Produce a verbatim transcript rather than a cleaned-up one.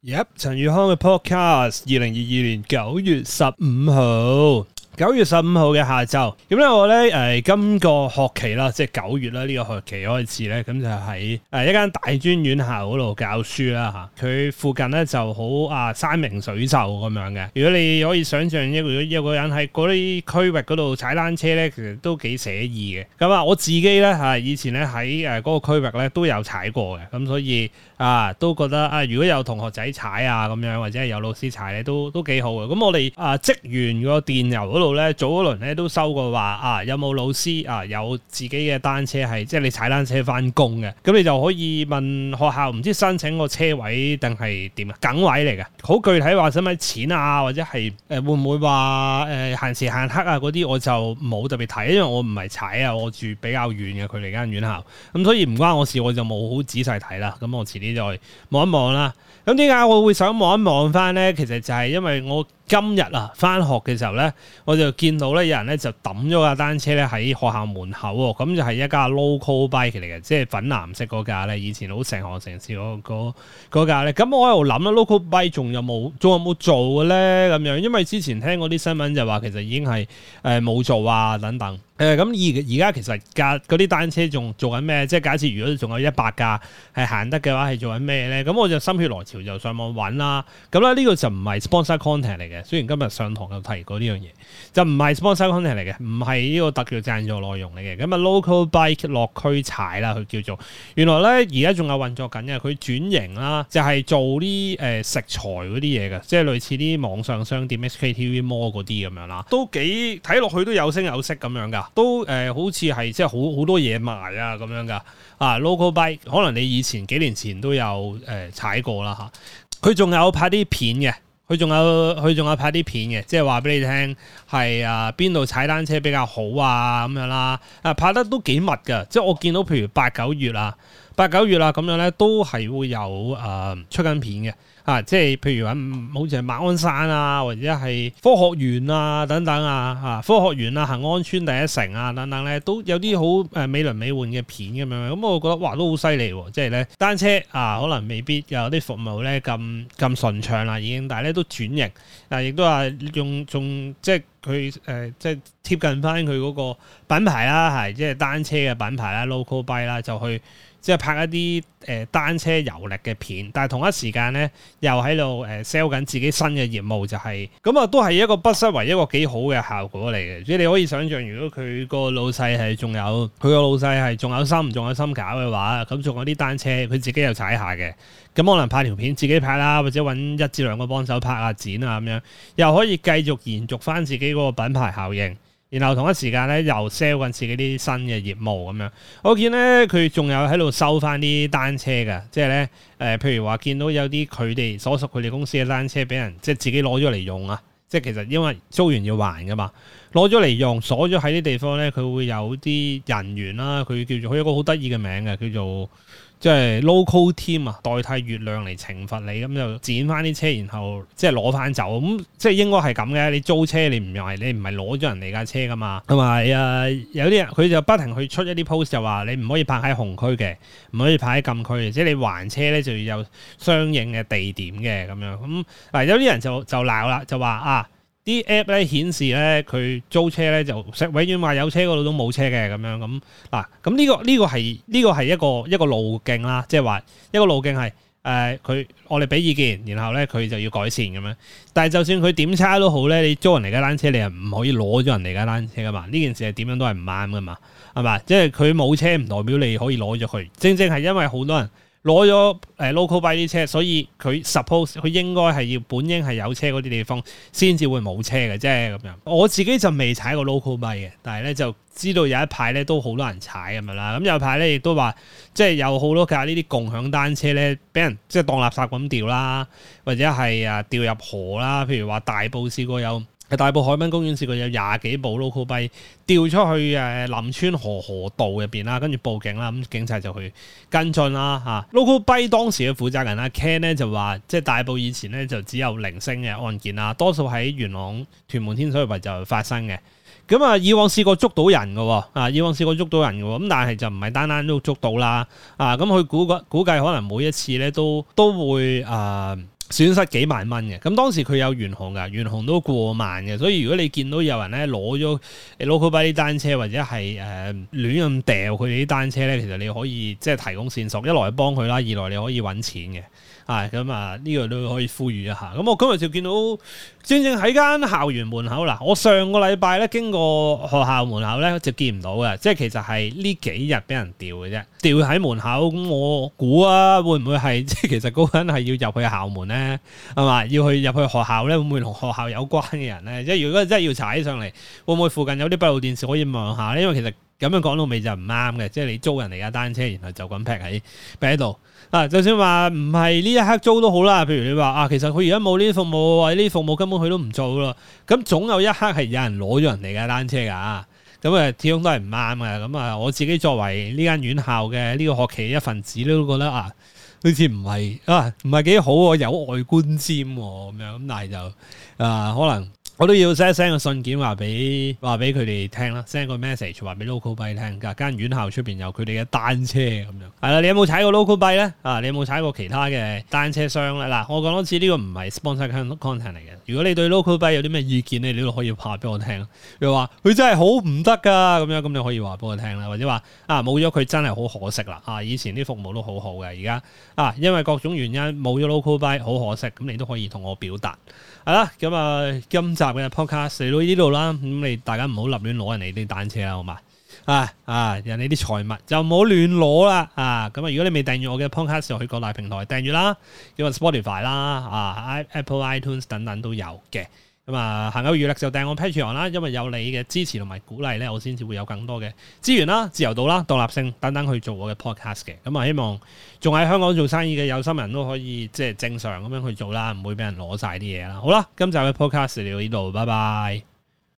Yep， 陳宇康嘅 podcast， 二零二二年九月十五號，九月十五號嘅下晝，咁咧我咧誒、呃、今個學期啦，即係九月啦，呢、這個學期開始咧，咁就喺誒、呃、一間大專院校嗰度教書啦嚇。佢附近咧就好啊山明水秀咁樣嘅。如果你可以想象一個一個人喺嗰啲區域嗰度踩單車咧，其實都幾寫意嘅。咁啊，我自己咧嚇以前咧喺誒嗰個區域咧都有踩過嘅，咁所以啊都覺得啊如果有同學仔踩啊咁樣，或者係有老師踩咧，都都幾好嘅。咁我哋啊職員個電郵嗰度咧，早嗰輪咧都收過話啊，有冇老師啊有自己嘅單車係即係你踩單車翻工嘅，咁你就可以問學校唔知申請個車位定係點啊，梗位嚟嘅。好具體話使唔使錢啊，或者係誒、呃、會唔會話誒限時限刻啊嗰啲，我就冇特別睇，因為我唔係踩啊，我住比較遠嘅距離間院校，咁所以唔關我事，我就冇好仔細睇啦。咁我遲啲再望一望啦。咁點解我會想望一望翻咧？其實就係因為我今日啊翻學嘅時候咧，我就見到咧有人咧就抌咗架單車咧喺學校門口喎。咁就係一架 local bike 嚟嘅，即係粉藍色嗰架咧，以前好成行成市嗰嗰嗰架咧。咁我喺度諗啦 local bike 仲有冇仲有冇做嘅咧？咁樣，因為之前聽嗰啲新聞就話其實已經係誒冇做啊等等。誒咁而而家其實架嗰啲單車仲做緊咩？即係假設如果仲有一百架係行得嘅話，係做緊咩咧？咁我就心血來潮就上網揾啦。咁咧呢個就唔係 sponsor content 嚟嘅，雖然今日上堂有提過呢樣嘢，就唔係 sponsor content 嚟嘅，唔係呢個特叫贊助內容嚟嘅。咁啊 local bike 落區踩啦，佢叫做。原來咧而家仲有運作緊嘅，佢轉型啦，就係做啲誒食材嗰啲嘢嘅，即係類似啲網上商店 H K T V Mall 嗰啲咁樣啦，都幾睇落去都有聲有色咁樣㗎。都誒、呃、好似係即係好好多嘢賣啊咁樣噶啊 local bike 可能你以前幾年前都有誒、呃、踩過啦嚇，佢仲有拍啲片嘅，佢仲有佢仲有拍啲片嘅，即係話俾你聽係啊邊度踩單車比較好啊咁樣啦，啊拍得都幾密噶，即係我見到譬如八九月啊八九月啊咁樣咧，都係會有誒、呃、出緊片嘅。啊，即係譬如話，好似係馬鞍山啊，或者係科學園啊等等啊，啊科學園啊、恆安村第一城啊等等咧，都有啲好誒美輪美奐嘅片咁樣。咁我覺得哇，都好犀利喎！即係咧單車啊，可能未必有啲服務咧咁咁順暢啦，已經，但係咧都轉型啊，亦都話用仲即係佢誒即係貼近翻佢嗰個品牌啦，係即係單車嘅品牌啦 ，local bike 啦，就去。即係拍一啲誒、呃、單車遊歷嘅片，但係同一時間咧又喺度誒 sell 緊自己新嘅業務，就係咁啊，都係一個不失為一個幾好嘅效果嚟嘅。即係你可以想象，如果佢個老細係仲有佢個老細係仲有心仲有心搞嘅話，咁仲有啲單車佢自己又踩下嘅，咁可能拍條片自己拍啦，或者揾一至兩個幫手拍下剪啊咁樣，又可以繼續延續翻自己嗰個品牌效應。然後同一時間咧又 sell 緊自己啲新嘅業務咁樣，我見咧佢仲有喺度收翻啲單車㗎，即係咧誒，譬如話見到有啲佢哋所屬佢哋公司嘅單車俾人即係自己攞咗嚟用啊，即係其實因為租完要還㗎嘛，攞咗嚟用鎖咗喺啲地方咧，佢會有啲人員啦，佢叫做佢有一個好得意嘅名嘅，叫做。即係 local team 啊，代替月亮嚟懲罰你，咁就剪翻啲車，然後即係攞翻走，咁即係應該係咁嘅。你租車你唔係你唔係攞咗人哋架車噶嘛，同埋誒有啲人佢就不停去出一啲 post 就話你唔可以泊喺紅區嘅，唔可以泊喺禁區嘅，即係你還車咧就要有相應嘅地點嘅咁樣。咁嗱有啲人就就鬧啦，就話啊。啲 app 咧顯示咧佢租車咧就永遠話有車嗰度都冇車嘅咁樣咁嗱，咁呢個呢個係呢個係一個一個路徑啦，即係話一個路徑係誒佢我哋俾意見，然後咧佢就要改善咁樣。但係就算佢點差都好咧，你租人哋架單車，你又唔可以攞咗人哋架單車噶嘛？呢件事係點樣都係唔啱噶嘛？係嘛？即係佢冇車唔代表你可以攞咗佢，正正係因為好多人。攞咗誒 local bike 啲車，所以佢 suppose 佢應該係要本應係有車嗰啲地方先至會冇車嘅啫咁樣。我自己就未踩過 local bike 嘅，但係咧就知道有一排咧都好多人踩咁樣啦。咁有排咧亦都話，即係有好多架呢啲共享單車咧，俾人即係當垃圾咁掉啦，或者係啊掉入河啦。譬如話大埔試過有。大埔海濱公園試過有廿幾部 local bike 掉出去誒林村河河道入邊啦，跟住報警啦，咁警察就去跟進啦嚇。local bike 當時嘅負責人阿 Ken 咧就話，即係大埔以前咧就只有零星嘅案件啦，多數喺元朗、屯門、天水圍就發生嘅。咁啊，以往試過捉到人嘅喎，啊，以往試過捉到人嘅喎，咁但係就唔係單單都捉到啦，啊，咁佢估估計可能每一次咧都都會啊。 損失幾萬蚊嘅。咁當時佢有懸紅㗎，懸紅都過萬嘅。所以如果你見到有人咧攞咗 local bike 啲單車，或者係誒、呃、亂咁掉佢哋啲單車咧，其實你可以即係提供線索，一來幫佢啦，二來你可以揾錢嘅。啊，咁啊呢個都可以呼籲一下。咁我今日就見到正正喺間校園門口啦。我上個禮拜咧經過學校門口咧就見唔到嘅，即係其實係呢幾日俾人掉嘅啫，掉喺門口。咁我估啊，會唔會係即係其實嗰個人係要入去校門咧，係嘛？要去入去學校咧，會唔會同學校有關嘅人咧？即係如果真係要查起上嚟，會唔會附近有啲閉路電視可以望下咧？因為其實咁樣講到尾就唔啱嘅，即係你租人哋架單車，然後就咁劈喺劈喺度。啊，就算話唔係呢一刻租都好啦，譬如你話啊，其實佢而家冇呢啲服務，或者呢啲服務根本佢都唔做咯，咁總有一刻係有人攞咗人哋嘅單車㗎，咁啊始終都係唔啱嘅。咁啊，我自己作為呢間院校嘅呢個學期一份子都覺得啊，好似唔係啊，唔係幾好喎，有外觀瞻喎咁樣，咁但係就啊可能。我都要 send send 個信件話俾話俾佢哋聽啦 ，send 個 message 話俾 local bike 聽，㗎間院校出邊有佢哋嘅單車咁樣。係啦，你有冇踩過 local bike 咧？啊，你有冇踩過其他嘅單車商咧？嗱，我講多次呢個唔係 sponsor content 嚟嘅。如果你對 local bike 有啲咩意見咧，你都可以話俾我聽。又話佢真係好唔得㗎咁樣，咁你可以話俾我聽啦。或者話啊冇咗佢真係好可惜啦。啊，以前啲服務都好好嘅，而家啊因為各種原因冇咗 local bike，好可惜。咁你都可以同我表達。係啦，咁啊今集嘅 podcast 嚟到呢度啦，咁你大家唔好立亂攞人哋啲單車啦，好嘛？啊啊，人哋啲財物就唔好亂攞啦，啊咁啊！如果你未訂閱我嘅 podcast，就去各大平台訂閱啦，叫 Spotify 啦，啊 Apple iTunes 等等都有嘅。咁啊，行有餘力就訂我 Patreon 啦，因為有你嘅支持同埋鼓勵咧，我先至會有更多嘅資源啦、自由度啦、獨立性等等去做我嘅 podcast 嘅。咁啊，希望仲喺香港做生意嘅有心人都可以即係正常咁樣去做啦，唔會俾人攞晒啲嘢啦。好啦，今集嘅 podcast 嚟到呢度，拜拜。